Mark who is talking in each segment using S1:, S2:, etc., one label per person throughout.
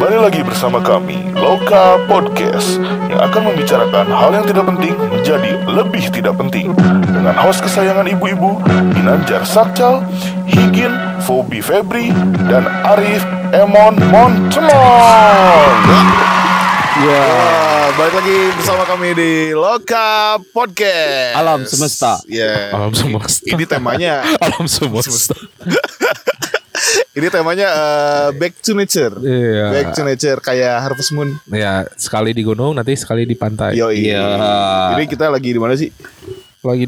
S1: Kembali lagi bersama kami, Loka Podcast, yang akan membicarakan hal yang tidak penting menjadi lebih tidak penting, dengan host kesayangan ibu-ibu, Ginanjar Sakcal, Higin, Fobi Febri, dan Arif Emon Montemon.
S2: Ya, balik lagi bersama kami di Loka Podcast.
S3: Alam semesta.
S2: Ya.
S4: Alam semesta.
S2: Ini temanya
S4: Alam semesta.
S2: Ini temanya back to nature.
S4: Iya.
S2: Back to nature kayak Harvest Moon.
S4: Ya, sekali di gunung, nanti sekali di pantai.
S2: Yo
S3: Iya.
S2: Jadi kita lagi di mana sih?
S4: Lagi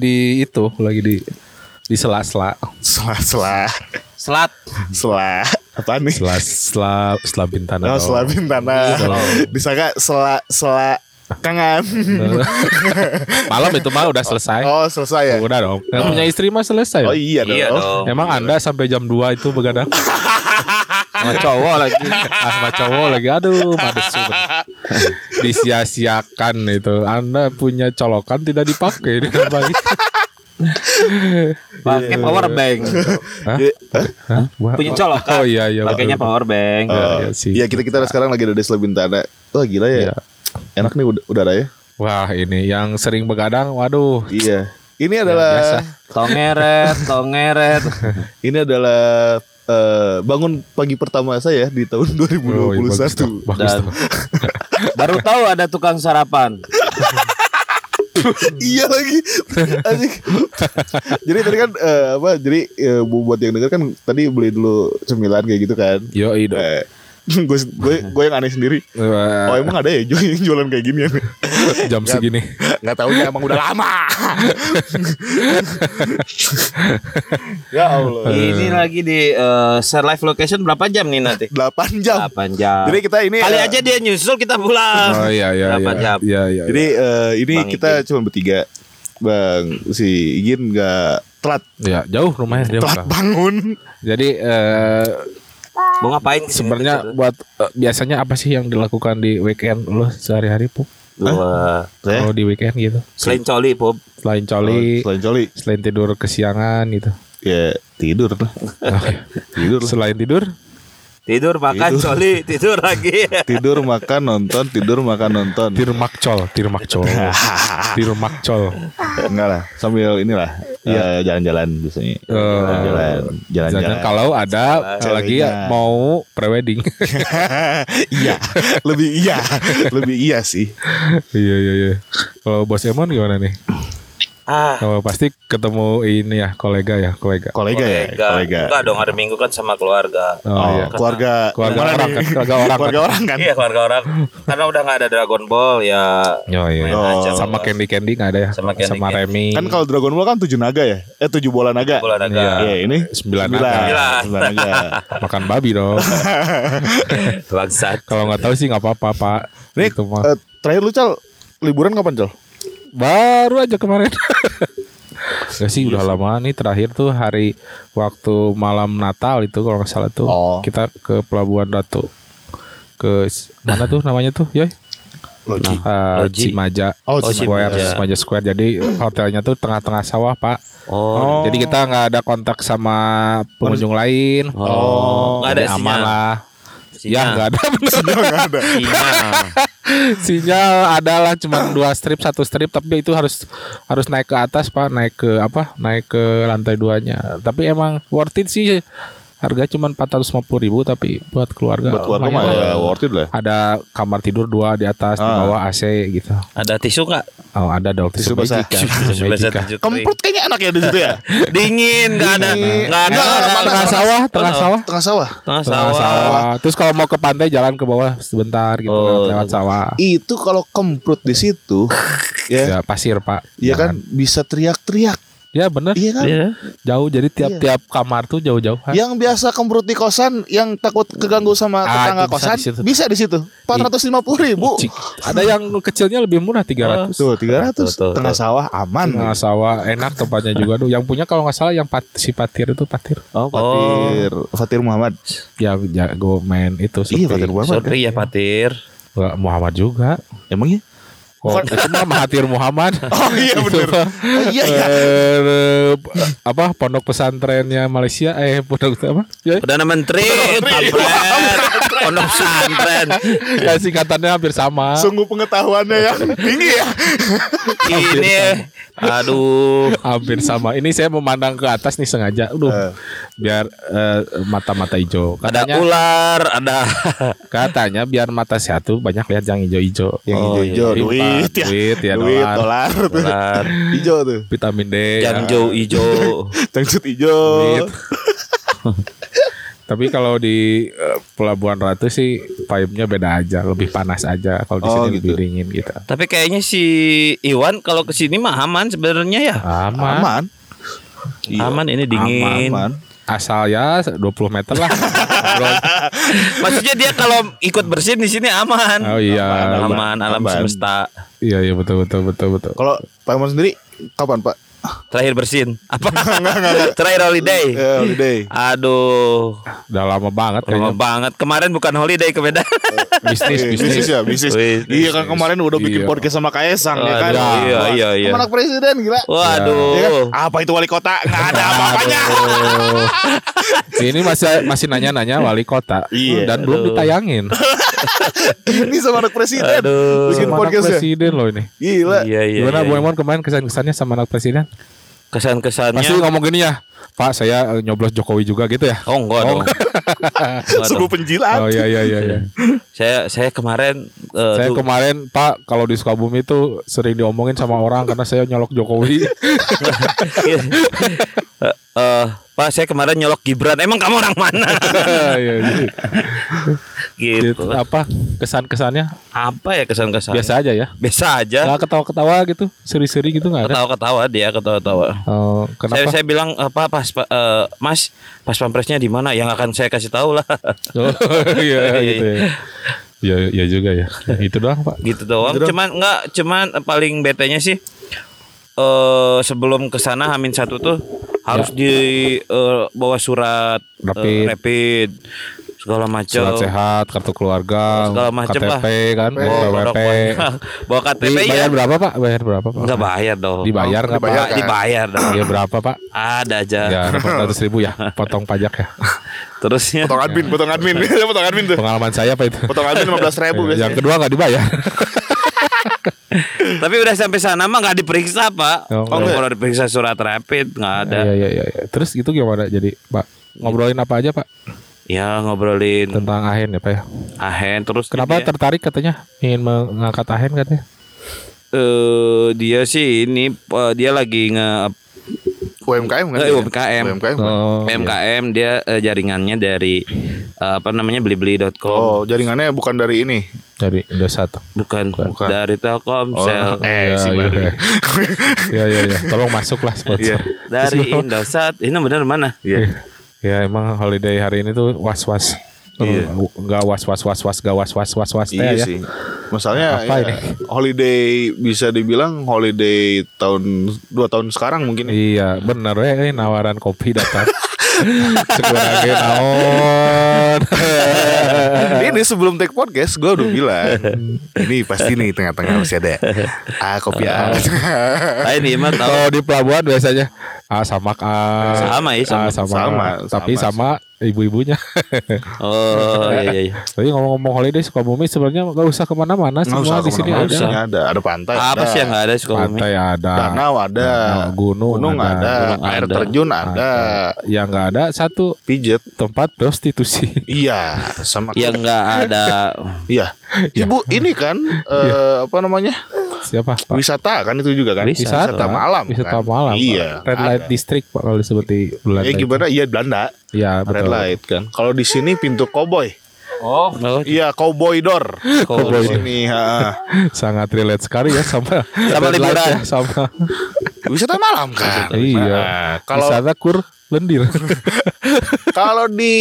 S4: di sela-sela.
S2: Selat. Apa nih?
S4: Sela bintana.
S2: Oh, Selat Bintana. Disangka sela kangen.
S4: Malam itu mah udah selesai.
S2: Oh, selesai ya.
S4: Udah dong. Yang punya istri mah selesai.
S2: Oh iya dong.
S4: Emang Anda sampai jam 2 itu begadang?
S3: Sama cowok lagi.
S4: Sama cowok lagi. Aduh, mades banget. Disia-siakan itu. Anda punya colokan tidak dipakai dengan baik.
S3: Pakai power bank.
S4: Hah?
S3: Punya colok.
S4: Oh iya.
S3: Pakainya power bank.
S4: Iya sih.
S2: Iya, kita sekarang lagi ada di Selat Bintana. Wah, gila ya.
S4: Iya.
S2: Enak nih udara ya.
S4: Wah, ini yang sering begadang, waduh.
S2: Iya. Ini adalah
S4: biasa.
S3: Tongeret.
S2: Ini adalah bangun pagi pertama saya di tahun 2021.
S4: Oh, iya, bagus tuh.
S3: Dan baru tahu ada tukang sarapan.
S2: Iya lagi. Asik. Jadi tadi kan buat yang denger kan tadi beli dulu cemilan kayak gitu kan.
S4: Yoi dong.
S2: Gue yang aneh sendiri.
S4: Wah,
S2: Oh emang ada ya yang jualan kayak gini ya?
S4: jam segini.
S2: Nggak taunya emang udah lama. Ya Allah.
S3: Ini lagi di share live location berapa jam nih nanti?
S2: 8 jam.
S3: 8 jam.
S2: Jadi kita ini
S3: Kali aja dia nyusul kita pulang.
S4: Oh iya.
S3: 8 jam.
S4: Iya.
S2: Jadi ini
S3: Bang
S2: kita cuma bertiga. Bang si Igin nggak telat
S4: ya, jauh rumahnya dia.
S2: telat bangun.
S4: Jadi
S3: Mau ngapain kesini
S4: sebenarnya
S3: tuh?
S4: buat biasanya apa sih yang dilakukan di weekend lo sehari-hari, Pup?
S3: Wah.
S4: Kalau di weekend gitu.
S3: Selain coli, Pop.
S4: Selain coli,
S2: Selain coli
S4: selain tidur kesiangan gitu.
S2: ya tidur lah. Tidur lah.
S4: Selain tidur,
S3: Tidur, makan,
S2: Tidur.
S3: coli, tidur lagi.
S2: Tidur makan nonton.
S4: tirmakcol.
S2: Enggak lah, sambil inilah jalan-jalan biasanya. Jalan-jalan.
S4: Kalau ada lagi
S2: Ceweknya.
S4: mau prewedding.
S2: Iya, lebih iya sih.
S4: Iya. Kalau Bos Emon gimana nih? Kalau pasti ketemu ini ya kolega.
S2: Kolega ya, kolega.
S3: Enggak dong, hari Minggu kan sama keluarga.
S4: Oh, iya.
S2: Keluarga
S4: Keluarga
S2: mana
S4: orang
S2: nih?
S4: kan, keluarga orang kan.
S2: Keluarga orang kan.
S3: Iya, keluarga orang. Karena udah nggak ada Dragon Ball ya.
S4: Iya.
S3: aja,
S4: Sama
S3: bebas.
S4: Candy nggak ada ya?
S3: Sama Candy.
S4: Remy.
S2: Kan kalau Dragon Ball kan 7 naga ya? 7 bola naga.
S3: Bola naga.
S4: Iya.
S2: Iya, ini
S4: 9 naga.
S2: 9 naga.
S4: Makan babi dong.
S3: Bangsat.
S4: Kalau nggak tahu sih nggak apa-apa, Pak.
S2: Nih,
S4: Itu mah.
S2: terakhir lu Cal, liburan kapan Cal?
S4: Baru aja kemarin. Gak sih udah lama nih, terakhir tuh hari waktu malam Natal itu kalau nggak salah tuh.
S2: Oh.
S4: Kita ke Pelabuhan Ratu. Ke mana tuh namanya tuh, Yoy?
S3: Loji.
S4: Cimaja.
S2: Oh,
S4: Cimaja Square. Jadi hotelnya tuh tengah-tengah sawah, Pak.
S3: Oh.
S4: Jadi kita nggak ada kontak sama pengunjung lain.
S3: Nggak ada
S4: Jadi aman
S3: sinyal.
S4: lah. Ya
S3: Sinyal.
S4: nggak ada bener.
S3: Sinyal.
S4: Sinyal adalah cuma 2 strip, 1 strip, tapi itu harus naik ke atas, Pak, naik ke lantai 2-nya. Tapi emang worth it sih. Harga cuma 450.000, tapi buat keluarga.
S2: Buat keluarga mah
S4: lumayan.
S2: ya worth it lah.
S4: Ada kamar tidur 2 di atas, di bawah AC gitu.
S3: Ada tisu nggak?
S4: Oh, ada dong
S2: Tisu basah.
S4: Tisu Magica.
S2: Kemprut kayaknya enak ya di situ ya.
S3: Dingin, nggak ada.
S4: Tengah sawah.
S2: Tengah sawah.
S3: Tengah
S4: Tengah
S3: sawah.
S4: sawah. Terus kalau mau ke pantai jalan ke bawah sebentar gitu, lewat sawah.
S2: Itu kalau kemprut di situ
S4: Ya pasir, Pak.
S2: ya kan
S4: Jangan.
S2: bisa teriak-teriak.
S4: Ya bener.
S2: Iya kan?
S3: Iya.
S4: Jauh, jadi tiap kamar tuh jauh-jauh.
S2: Yang biasa kemprut di kosan yang takut keganggu sama tetangga
S4: itu bisa
S2: kosan
S4: di situ.
S2: bisa di situ. 450.000.
S4: Cik. Ada yang kecilnya lebih murah 300.
S2: Tuh 300
S3: Tuh.
S2: tengah sawah aman.
S4: Tengah sawah enak tempatnya juga tuh. Yang punya kalau nggak salah yang si Patir itu Patir.
S2: Oh, Fatir Muhammad.
S4: Ya jago main itu.
S2: Iya, Fatir Muhammad.
S3: Sorry ya, Patir.
S4: Nggak, Muhammad juga.
S2: Emangnya?
S4: Oh, itu mah Mahathir Muhammad.
S2: Oh iya
S4: Itu
S2: bener.
S4: mah,
S2: Oh iya ya.
S4: Pondok pesantrennya Malaysia, pondok apa? Ya,
S3: Perdana Menteri. Kampret. Pondok pesantren.
S4: Ya singkatannya hampir sama.
S2: Sungguh pengetahuannya yang tinggi ya.
S3: Ini aduh.
S4: Hampir sama. Ini saya memandang ke atas nih sengaja. Biar mata-mata hijau.
S3: Ada
S4: Katanya,
S3: ular, ada
S4: katanya biar mata sehat tuh banyak lihat yang hijau-hijau.
S2: Yang
S3: Oh,
S2: hijau-hijau,
S3: iya.
S2: duit ya.
S4: Duit ya,
S2: Duit,
S4: dolar.
S2: dolar.
S3: ular.
S2: Hijau tuh.
S4: Vitamin D. ya.
S3: Jangjo hijau.
S2: Cangcut hijau.
S4: Duit. Tapi kalau di Pelabuhan Ratu sih vibe-nya beda aja, lebih panas aja. Kalau di
S2: Oh,
S4: sini
S2: gitu.
S4: lebih dingin gitu.
S3: Tapi kayaknya si Iwan kalau kesini mah aman sebenarnya ya.
S4: Aman.
S2: Aman. Iya.
S3: Aman ini dingin.
S2: Aman.
S4: Asal ya 20 meter lah. Bro.
S3: Maksudnya dia kalau ikut bersin di sini aman.
S4: Oh iya.
S3: Aman, alam
S2: Aman.
S3: semesta.
S4: Iya betul.
S2: Kalau Pak Iman sendiri kapan Pak?
S3: Terakhir bersin. Apa? Terakhir holiday.
S2: Holiday.
S3: Aduh,
S4: Udah lama banget
S3: lama
S4: kayaknya.
S3: banget. Kemarin bukan holiday ke Medan.
S2: Bisnis ya, bisnis.
S3: Bisnis.
S2: Iya kan kemarin udah bikin
S4: Iya.
S2: podcast sama Kaesang ya kan.
S3: Aduh, iya.
S2: Sama anak presiden gila.
S3: Waduh.
S2: Ya kan? Apa itu wali kota? Nggak ada apa-apanya.
S4: Aduh. Ini masih nanya-nanya wali kota.
S2: Iya.
S4: Dan belum ditayangin.
S2: Ini sama anak presiden.
S3: Aduh.
S2: Bikin
S4: Sama anak
S2: podcast ya.
S4: presiden loh ini.
S2: Gila.
S3: Iya.
S4: Gimana Bu Emon kemarin kesan-kesannya sama anak presiden? Pasti
S3: Kesan-kesannya.
S4: ngomong gini ya, Pak saya nyoblos Jokowi juga gitu ya.
S3: Oh enggak dong. Enggak
S2: Sungguh
S3: dong.
S2: penjilat.
S4: Oh iya.
S3: Saya kemarin
S4: Saya
S3: tuh-
S4: kemarin Pak kalau di Sukabumi itu sering diomongin sama orang karena saya nyolok Jokowi.
S3: Pak saya kemarin nyolok Gibran. Emang kamu orang mana?
S4: Iya,
S3: Gitu.
S4: gitu. Apa kesan-kesannya?
S3: Apa ya kesan-kesan?
S4: Biasa aja ya.
S3: Biasa aja.
S4: Nggak ketawa-ketawa gitu, seri-seri gitu nggak ada.
S3: Ketawa-ketawa dia ketawa-tawa.
S4: Oh, kenapa?
S3: Saya bilang apa Mas pas pampresnya di mana? Yang akan saya kasih tahu lah.
S4: Oh, iya gitu ya. Iya juga ya. Itu doang Pak.
S3: Gitu doang. Cuman paling betenya sih sebelum kesana H-1 tuh harus di bawa surat rapid segala macam.
S4: Surat sehat, kartu keluarga,
S3: Segala macem
S4: KTP
S3: lah.
S4: kan, PWP.
S3: Bawa KTP ya.
S4: Bayar berapa Pak? Bayar berapa Pak?
S3: Enggak bayar dong.
S4: Dibayar nggak Pak?
S2: dibayar.
S3: Dibayar dong.
S4: Iya berapa Pak?
S3: Ada aja.
S4: Ya 400.000 ya, potong pajak ya.
S3: Terusnya
S2: Potong admin. Potong admin tuh.
S4: Pengalaman saya Pak itu.
S2: Potong admin 15.000 biasanya.
S4: Yang kedua nggak dibayar.
S3: tapi udah sampai sana mah nggak diperiksa Pak.
S4: Oh,
S3: Kalau diperiksa surat rapid nggak ada.
S4: Iya. Terus itu gimana jadi Pak? Ngobrolin apa aja Pak?
S3: Ya ngobrolin
S4: Tentang Ahen ya Pak ya?
S3: Ahen terus
S4: Kenapa
S3: dia,
S4: tertarik katanya ingin mengangkat Ahen katanya?
S3: dia sih ini dia lagi
S2: UMKM kan?
S3: UMKM.
S2: UMKM.
S4: Oh,
S3: PMKM dia jaringannya dari blibli.com.
S2: Oh, jaringannya bukan dari ini.
S4: dari Indosat.
S3: Bukan.
S2: Bukan.
S3: Dari Telkomsel.
S2: Si Bari.
S4: Iya. Tolong masuk lah sponsor.
S3: Dari Indosat. Ini benar mana?
S2: Iya.
S4: Ya emang holiday hari ini tuh was-was.
S2: Iya.
S4: Enggak was-was
S2: Iya
S4: ya.
S2: sih. Masalahnya
S4: Apa ini?
S2: holiday bisa dibilang holiday 2 tahun sekarang mungkin.
S4: Iya, bener ya nawaran kopi datang. Sekurangnya naon.
S2: Ini sebelum take podcast gue udah bilang ini pasti nih tengah-tengah masih ada kopi
S3: Ini mah tahu.
S4: Kalau di pelabuhan biasanya sama
S3: Sama ya, sama.
S2: Sama.
S4: Tapi sama ibu-ibunya.
S3: Oh iya.
S4: Tapi ngomong-ngomong holiday Sukabumi sebenarnya nggak usah kemana-mana, semua di sini ada.
S2: ada pantai,
S3: Apa sih yang nggak ada Sukabumi?
S4: Pantai ada,
S2: danau ada,
S4: gunung
S2: ada,
S3: Gunung
S2: air
S3: ada.
S2: terjun ada,
S4: yang nggak ada satu
S2: pijet.
S4: tempat prostitusi.
S2: Iya, sama
S3: Yang nggak ada.
S2: Iya. Ibu ini kan apa namanya?
S4: Siapa Pak?
S2: Wisata kan itu juga kan?
S3: Wisata.
S2: malam.
S4: Wisata
S2: kan?
S4: malam.
S2: Iya.
S4: Red Light
S2: ada.
S4: District Pak kalau disebut di Belanda.
S2: Gimana? Iya Belanda.
S4: Iya
S2: Red
S4: betul.
S2: light kan. Kalau di sini pintu cowboy.
S3: Oh.
S2: Iya, cowboy door.
S3: Cowboy
S2: Di sini,
S4: Sangat relate sekali ya sama
S3: Sama
S4: Red Light
S3: liburan.
S4: ya, sama
S2: wisata malam kan.
S4: iya.
S2: Nah, kalau
S4: Wisata kur lendir.
S2: kalau di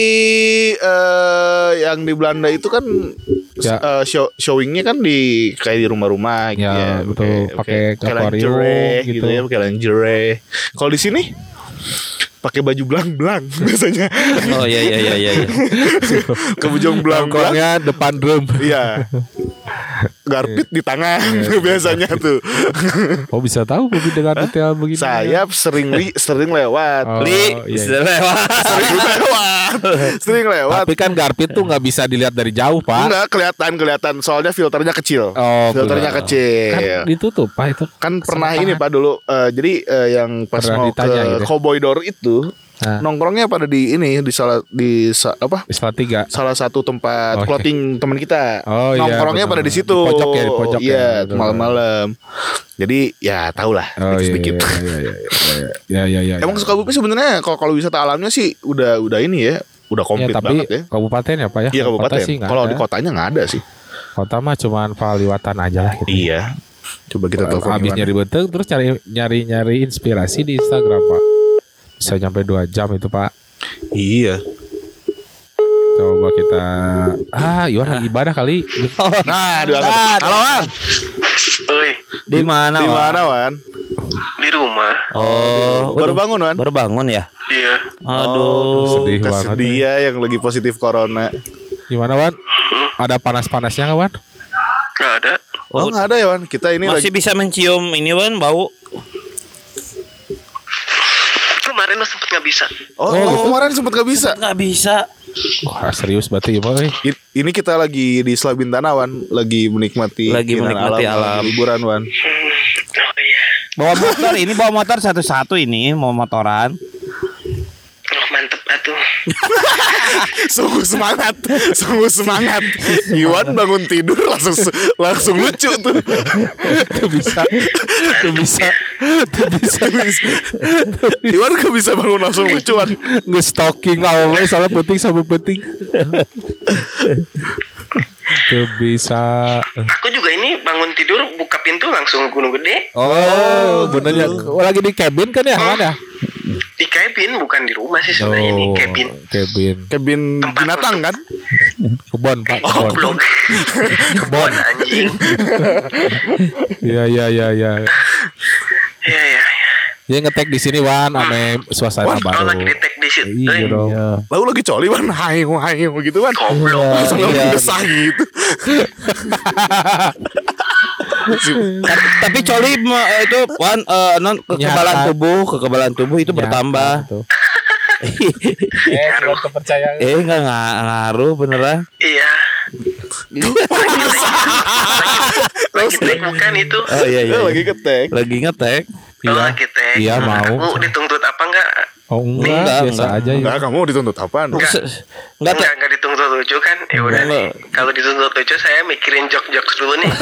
S2: yang di Belanda itu kan
S4: Ya.
S2: showingnya kan di kayak di rumah-rumah gitu
S4: Ya, betul. Pakai akuarium
S2: lingerie
S4: gitu.
S2: gitu ya, pakai lingerie. Kalau di sini pakai baju belang-belang biasanya.
S3: Oh iya.
S2: Ke bujung belang-belang.
S4: Nongkrongnya depan drum.
S2: Iya. Garpit di tangan biasanya tuh.
S4: Oh bisa tahu Bobby dengan detail begini.
S2: Sayap sering lewat. Sering lewat.
S4: Tapi kan Garpit tuh nggak bisa dilihat dari jauh Pak.
S2: Enggak kelihatan soalnya filternya kecil. Filternya
S4: Kan
S2: kecil.
S4: ditutup Pak itu.
S2: Kan pernah ini Pak dulu. Jadi yang pas
S4: Pernah
S2: mau
S4: ditanya
S2: ke
S4: gitu.
S2: Cowboy Door itu nongkrongnya pada di ini di
S4: Salatiga.
S2: salah satu tempat clothing teman kita.
S4: Oh, iya,
S2: nongkrongnya
S4: betul.
S2: pada di situ.
S4: Di pojok ya, di pojok
S2: Iya,
S4: ya, betul.
S2: malam-malam. Jadi ya tahulah sedikit.
S4: Iya.
S2: Emang Sukabumi sebenarnya kalau wisata alamnya sih udah ini ya, udah komplit
S4: tapi
S2: banget ya.
S4: kabupaten ya Pak ya.
S2: Iya kabupaten.
S4: Kota sih nggak
S2: Kalau
S4: ada.
S2: di kotanya nggak ada sih.
S4: Kota mah cuman Paliwatan aja lah gitu.
S2: Iya. Coba kita telepon.
S4: Habis
S2: Iwan.
S4: nyari beteng terus nyari inspirasi di Instagram Pak. Bisa nyampe 2 jam itu Pak.
S2: Iya.
S4: Coba kita Iwan lagi ibadah kali.
S2: Nah, halo Wan.
S5: Oi,
S3: Di mana?
S2: Di mana Wan?
S5: di rumah.
S3: Oh,
S2: Baru bangun Wan?
S3: Baru bangun ya?
S5: Iya.
S3: Aduh.
S4: Sedih banget.
S2: Kesedih ya yang lagi positif corona.
S4: Gimana Wan? Ada panas-panasnya nggak Wan?
S5: Gak ada.
S2: Oh nggak ada ya Wan. Kita ini
S3: Masih bisa mencium ini Wan bau.
S5: Kemarin lo sempet gak bisa.
S2: Kemarin sempet gak bisa.
S3: Nggak bisa.
S4: Wah serius berarti ya Pak.
S2: Ini kita lagi di Slabintana Wan, lagi menikmati
S3: alam.
S2: liburan Wan.
S5: Oh iya.
S3: Bawa motor satu-satu ini mau motoran.
S5: Oh mantep atuh.
S2: Sungguh semangat. Iwan bangun tidur langsung lucu tuh.
S4: Tuh bisa.
S2: Iwan gak bisa bangun langsung lucu Wan.
S4: Nge-stalking awalnya soalnya penting sama penting. Tuh bisa.
S5: Aku juga ini bangun tidur buka pintu langsung Gunung Gede.
S4: Oh bener ya. Lagi di cabin kan ya mana?
S5: Di cabin bukan di rumah sih sebenarnya di cabin.
S2: Kebin binatang kan?
S4: Kebon Pak.
S5: Oh
S4: Kebon.
S5: belum. Kebon anjing.
S4: Iya.
S5: Iya.
S4: Dia ngetek di sini Wan ame suasana
S2: Wan,
S4: baru.
S5: Oh lagi di tag di situ.
S4: Iya dong.
S2: Lalu lagi coli Wan, hayu gitu Wan.
S5: Goblok.
S2: Langsung gesah gitu.
S3: Tapi coli itu Wan kekebalan tubuh itu bertambah.
S5: Ngaruh.
S4: Kepercayaan.
S3: Nggak ngaruh beneran.
S5: Iya. Lagi tag bukan itu.
S3: Oh iya.
S2: Lagi ketek.
S3: Lagi ngetek.
S5: Oh, lagi tag.
S4: Iya, mau.
S5: Aku dituntut apa enggak?
S4: Oh enggak, biasa aja ya.
S2: Enggak, kamu dituntut apaan?
S5: Enggak dituntut lucu kan? Ya udah nih. Kalau dituntut lucu saya mikirin jok-jok dulu nih.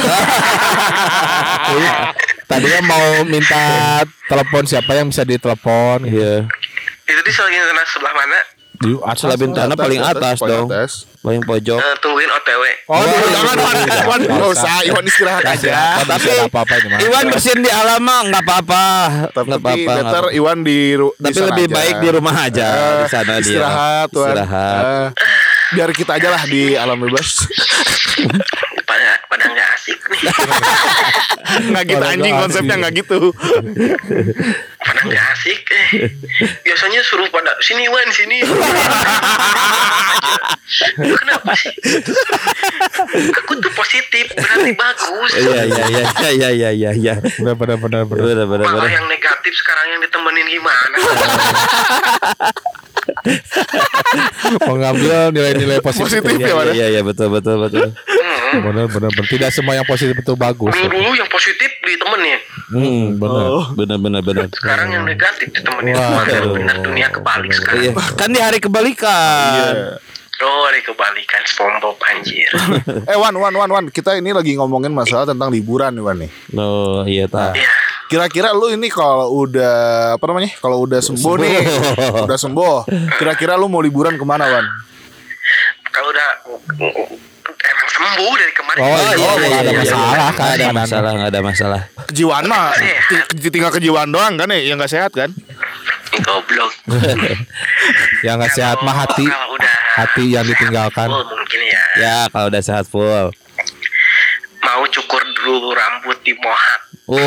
S4: Tadinya mau minta telepon siapa yang bisa ditelepon. Iya.
S5: Itu di Salatiga sebelah mana?
S4: Di atas.
S3: Slabintana paling atas dong. Paling pojok.
S5: Tungguin OTW.
S2: Oh, jangan Wan. Enggak usah, Iwan istirahat aja.
S3: Tapi
S4: apa-apa ini mah.
S3: Iwan bersihin di alam mah nggak apa-apa.
S2: Tapi better Iwan di
S3: Tapi
S2: sana
S3: lebih
S2: aja.
S3: baik di rumah aja di sana dia.
S2: Istirahat Wan.
S3: Istirahat.
S2: Biar kita aja lah di alam bebas.
S5: Pada nggak asik nih.
S2: Nggak gitu anjing konsepnya nggak gitu.
S5: Pada nggak asik. Biasanya suruh pada sini Wan sini. Kenapa sih? Aku tuh positif berarti bagus.
S3: Iya.
S4: Benar.
S5: Malah yang negatif sekarang yang ditemenin gimana?
S4: Mengambil nilai-nilai positif.
S2: Ya, Wan.
S3: Iya betul.
S4: Benar. Tidak semua yang positif itu bagus.
S5: Dulu yang positif ditemenin.
S3: Benar.
S5: Sekarang yang negatif ditemenin.
S4: Waduh.
S5: Benar dunia kebalik sekarang.
S3: Iya. Kan di hari kebalikan.
S5: Oh, hari kebalikan SpongeBob anjir.
S2: Wan, kita ini lagi ngomongin masalah tentang liburan nih Wan nih.
S3: Oh iya tak.
S5: Iya.
S2: Kira-kira lu ini kalau udah kalau udah sembuh nih, udah sembuh. Kira-kira lu mau liburan kemana Wan?
S5: Kalau udah emang sembuh dari kemarin.
S4: Nggak ada masalah kan?
S3: Nggak ada masalah.
S2: Kejiwaan mah tinggal kejiwaan doang kan ya, yang nggak sehat kan?
S5: Goblok.
S4: Yang nggak sehat mah hati.
S5: Kalau udah
S4: Hati yang ditinggalkan.
S5: full mungkin ya.
S3: Ya kalau udah sehat full.
S5: Mau cukur dulu rambut di mohak.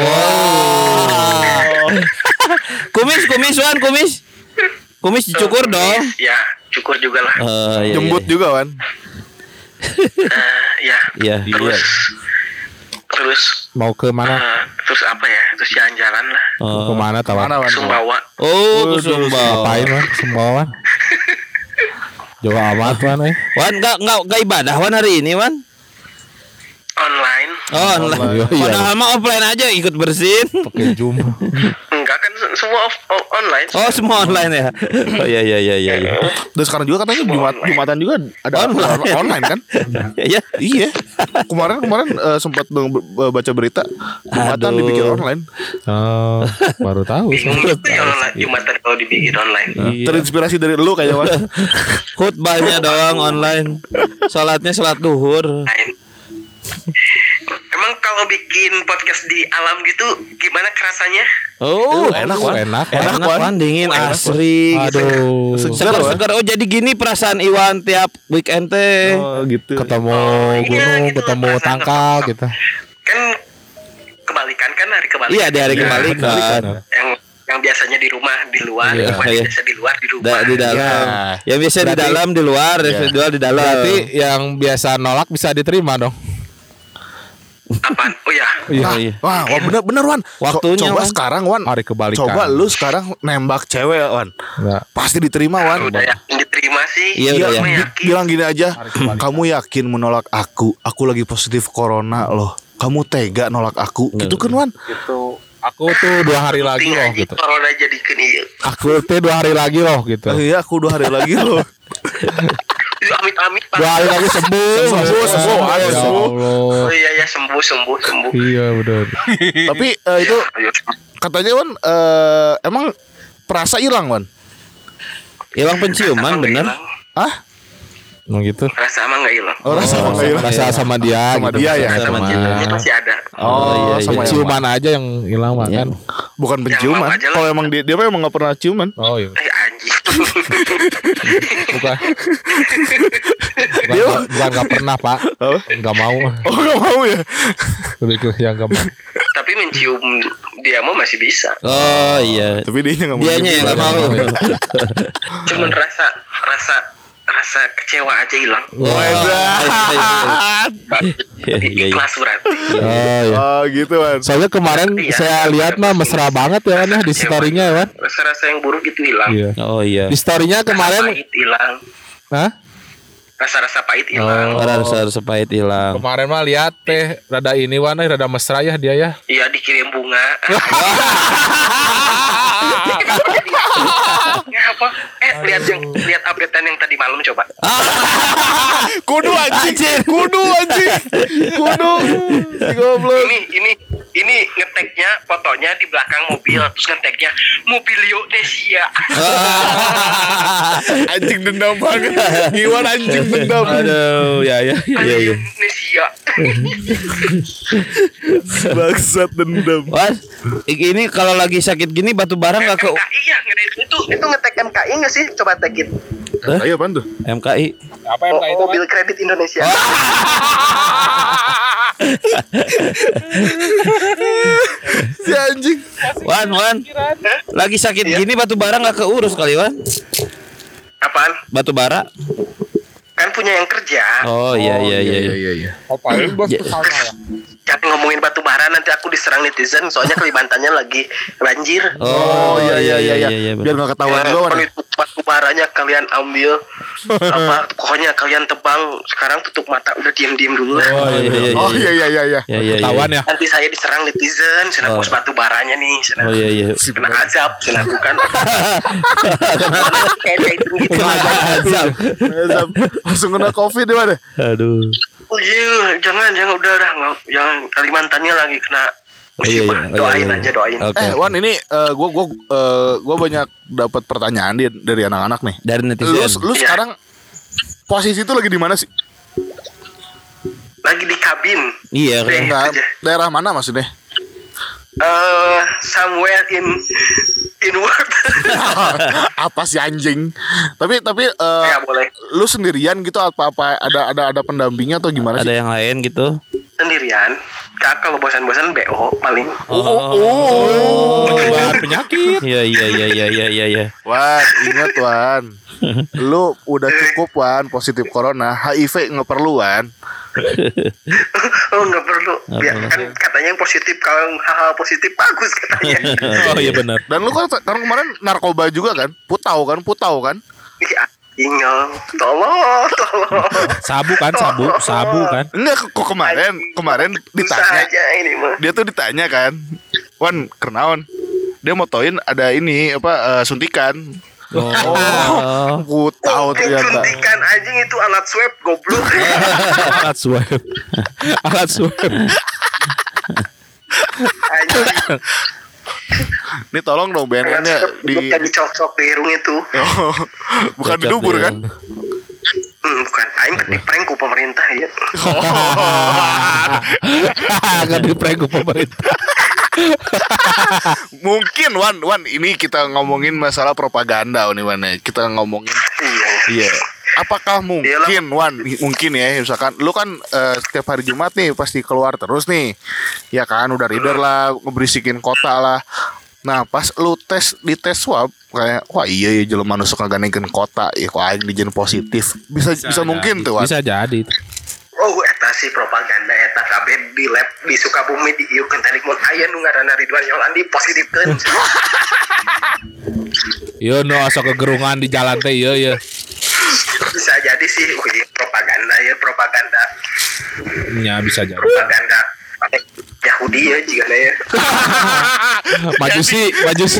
S3: Wow. Kumis Wan. Kumis dicukur dong.
S5: Ya, cukur juga lah.
S2: Jembut juga Wan.
S5: Ya.
S3: Iya.
S5: Terus terus
S4: Mau ke mana?
S5: terus apa ya? Terus jalan-jalan lah.
S4: Ke mana tahu?
S5: Sumbawa.
S3: Oh, ke Sumbawa.
S4: Ngapain Wan? Sumbawa. Jauh amat Wan.
S3: Wan enggak ibadah Wan hari ini Wan.
S5: Online.
S3: Oh, online. Padahal mah offline aja ikut bersin.
S4: Pakai Zoom.
S5: Enggak kan semua online.
S3: Oh, semua online ya. Oh iya.
S2: Dan sekarang juga katanya Jumatan juga ada online kan?
S3: Iya.
S2: Iya. Kemarin sempat baca berita Jumatan
S3: Aduh.
S2: dibikin online.
S4: Oh, baru tahu.
S5: Bingung gitu ya online Jumatan kalau dibikin online.
S2: Terinspirasi dari lu kayaknya Wan.
S3: Khutbahnya doang online. Salatnya salat duhur.
S5: Emang kalau bikin podcast di alam gitu gimana kerasanya?
S3: Oh,
S2: Enak Wan.
S3: enak Wan, dingin asri gitu.
S4: Aduh.
S3: Segar. Oh, jadi gini perasaan Iwan tiap weekend teh.
S2: Oh gitu.
S4: Ketemu
S5: iya,
S4: gunung,
S5: gitu,
S4: ketemu
S5: perasaan
S4: tangkal
S5: kosong.
S4: gitu.
S5: Kan kebalikan kan hari kebalikan.
S3: Iya, di hari kebalikan.
S5: Yang biasanya di rumah di luar,
S3: Iya,
S5: cuma
S3: iya.
S5: biasa di luar di rumah.
S3: Di dalam. Yang biasa di
S4: Berarti-
S3: dalam di luar, yang jual di dalam.
S4: Berarti yang biasa nolak bisa diterima dong.
S5: Apaan? Oh ya.
S3: Iya.
S2: Wah, bener Wan.
S3: Waktunya,
S2: Coba
S3: Wan.
S2: sekarang Wan.
S4: Hari kebalikan.
S2: Coba lu sekarang nembak cewek Wan.
S4: Enggak.
S2: Pasti diterima Wan.
S5: Udah yakin diterima sih.
S3: Iya, udah
S5: Cuma
S3: yakin.
S5: yakin.
S2: Bilang gini aja, kamu yakin menolak aku? Aku lagi positif corona loh. Kamu tega nolak aku? Gitu kan Wan?
S4: Gitu. Aku tuh 2 hari lagi
S5: Penting
S4: loh
S5: aja
S4: gitu.
S5: Corona jadi kini.
S4: Aku tuh 2 hari lagi loh gitu.
S2: Iya, aku 2 hari lagi loh.
S5: Amit-amit.
S4: 2 hari lagi sembuh.
S2: Sembuh.
S4: Ya
S2: Sembuh.
S4: Allah.
S5: Oh iya sembuh.
S4: Iya benar.
S2: Tapi itu
S5: Ayo.
S2: katanya Wan, emang perasa hilang Wan?
S3: Hilang penciuman bener.
S2: Ah?
S4: Mau gitu.
S5: Rasa emang nggak hilang.
S2: Oh, rasa nggak hilang.
S4: Rasa sama dia
S2: Sama
S4: gitu.
S2: dia ya?
S5: Rasa
S3: Sama
S5: penciumannya
S3: dia.
S5: masih ada.
S2: Oh,
S3: iya,
S2: sama
S4: Ciuman aja yang hilang mah kan.
S2: Bukan
S5: Yang
S2: penciuman.
S5: mau aja lah.
S2: Kalau emang dia mah emang nggak pernah ciuman.
S4: Oh iya.
S5: Anjing.
S4: Bukan. Bukan nggak pernah Pak.
S2: Apa?
S4: Nggak mau.
S2: Oh, nggak mau ya?
S4: Lebih ke yang nggak mau.
S5: Tapi mencium dia mau masih bisa.
S3: Oh iya.
S2: Tapi dia nggak mau.
S3: Dianya yang nggak mau.
S5: Cuman rasa kecewa aja hilang.
S3: Iya.
S5: Ikhlas berarti.
S4: Oh iya.
S2: Oh gitu Wan.
S4: Soalnya kemarin
S5: Iya.
S4: saya lihat mah mesra banget ya Wan ya di story-nya ya Wan.
S5: Rasa-rasa yang buruk itu hilang.
S4: Iya.
S3: Oh iya.
S4: Di story-nya
S5: Rasa
S4: kemarin,
S5: pahit hilang.
S4: hah?
S5: Rasa-rasa pahit hilang.
S3: Rasa pahit hilang.
S4: Kemarin mah lihat teh rada ini Wan, rada mesra ya dia ya.
S5: Iya dikirim bunga. Ya apa? Lihat updatean yang tadi malam coba.
S2: Kudu anjing. Kudu. Goblok.
S5: Ini ngeteknya fotonya di belakang mobil, terus ngeteknya Mobilio Nesia.
S2: Anjing dendam banget. Iwan anjing dendam.
S3: Aduh, ya.
S5: Nesia.
S2: Bangsat dendam.
S3: Wan, ini kalau lagi sakit gini batu bara nggak ke
S5: MKI ya, itu ngetek MKI nggak sih? Coba tekin.
S2: Ayo apaan tuh?
S3: MKI?
S4: Apa
S5: Mobil Kredit Indonesia.
S2: Si anjing.
S3: Wan, lagi sakit gini batu bara nggak keurus kali Wan?
S5: Apaan?
S3: Batu bara?
S5: Kan punya yang kerja.
S3: Oh iya.
S4: Ngapain bos ke sana ya?
S5: Jangan ngomongin batu bara, nanti aku diserang netizen. Soalnya Kalimantannya lagi banjir.
S2: Oh iya.
S3: betul.
S2: Biar nggak ketahuan juga Wan.
S5: Kalau itu batu baranya kalian ambil, pokoknya kalian tebang. Sekarang tutup mata, udah diam dulu lah.
S2: Oh iya.
S3: Iya.
S4: Ketahuan ya.
S5: Nanti saya diserang netizen, saya hapus batu baranya nih.
S3: Oh iya.
S5: Kena azab, saya lakukan. Kayak itu gitu.
S3: Azab.
S2: Langsung kena COVID di mana?
S3: Aduh.
S5: Oh iya, jangan udah nggak, jangan Kalimantannya lagi kena musibah.
S3: Iya.
S5: Doain aja, doain.
S3: Oke.
S2: Wan ini gue banyak dapat pertanyaan dari anak-anak nih.
S3: Dari netizen.
S2: Lu sekarang posisi itu lagi di mana sih?
S5: Lagi di kabin.
S3: Iya.
S2: Nah, daerah mana maksudnya?
S5: Somewhere in world.
S2: Apa sih anjing? Tapi
S5: Ya boleh.
S2: lu sendirian gitu apa ada pendampingnya atau gimana
S3: Ada
S2: sih?
S3: yang lain gitu?
S5: Sendirian. Kak, kalau bosan-bosan BO paling.
S4: Bahan penyakit.
S3: Iya.
S2: Wan, ingat Wan. Lu udah cukup Wan positif corona, HIV nggak perlu Wan.
S5: Oh nggak perlu. Ya, kan katanya yang positif, kalau hal-hal positif bagus katanya.
S3: Oh iya benar.
S2: Dan lu kan kemarin narkoba juga kan? Putau kan?
S5: Iya, ingat. Tolong.
S4: Sabu kan?
S2: Enggak, kok kemarin ditanya.
S5: Aja ini mah.
S2: Dia tuh ditanya kan, Wan, kenaon? Dia motoin ada ini suntikan. Aku tahu ternyata.
S5: Suntikan anjing itu alat swab goblok.
S4: Alat swab.
S5: Anjing.
S2: Ini tolong dong BNN-nya
S5: dicocok di irung itu.
S2: Bukan di dubur kan?
S5: Bukan, aing kan di-prank ku pemerintah ya.
S4: Kan di-prank ku pemerintah.
S2: Mungkin Wan ini kita ngomongin masalah propaganda nih Wan. Kita ngomongin. Iya. Apakah mungkin Wan, mungkin ya misalkan lu kan setiap hari Jumat nih pasti keluar terus nih. Ya kan udah reader lah, ngeberisikin kota lah. Nah, pas lu di tes swab kayak wah iya ya jelema nu suka ganengkeun kota ya kok aing dijen positif. Bisa mungkin tuh Wan.
S4: Bisa jadi.
S5: Oh, eta si propaganda eta kabeh di lab di Sukabumi diieukeun tadi mun aya nu ngaranna Ridwan Yolandi positifkeun.
S4: Yo no asa kegerungan di jalan teh ya.
S5: Bisa jadi sih propaganda.
S4: Ya bisa jadi.
S5: Propaganda Yahudi ya jika ya.
S4: Majusi.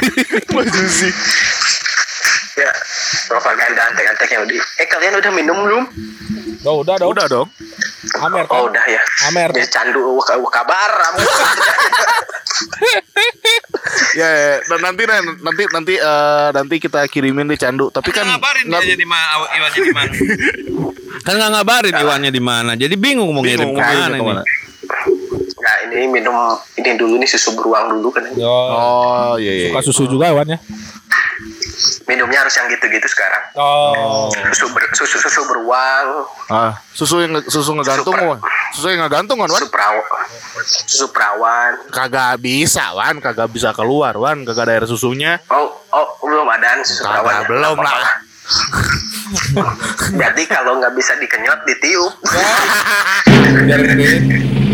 S5: Ya, propaganda antek-antek Yahudi. Kalian udah minum belum?
S2: Udah dong.
S4: Amer kan?
S5: Oh, udah ya.
S4: Amer.
S5: Dia candu kabar.
S3: Ya,
S2: dan nanti kita kirimin di candu. Tapi kan
S3: ngabarin dia di mana Iwannya di mana. Kan enggak ngabarin Iwannya di mana. Jadi bingung mau ngirim ke mana ini.
S5: Nah, ini minum ini dulu nih susu beruang dulu kan.
S2: Oh, iya.
S4: Suka susu juga Iwan ya?
S5: Minumnya harus yang gitu-gitu sekarang.
S4: Oh.
S5: Susu beruang.
S2: Susu yang ngegantung Wan. Susu yang ngegantung Wan.
S5: Susu perawan.
S2: Kagak bisa Wan, kagak bisa keluar Wan, kagak ada air susunya.
S5: Oh, belum ada susu perawan.
S2: Belum lah.
S5: Jadi kalau nggak bisa dikenyot ditiup.
S4: Biar gede.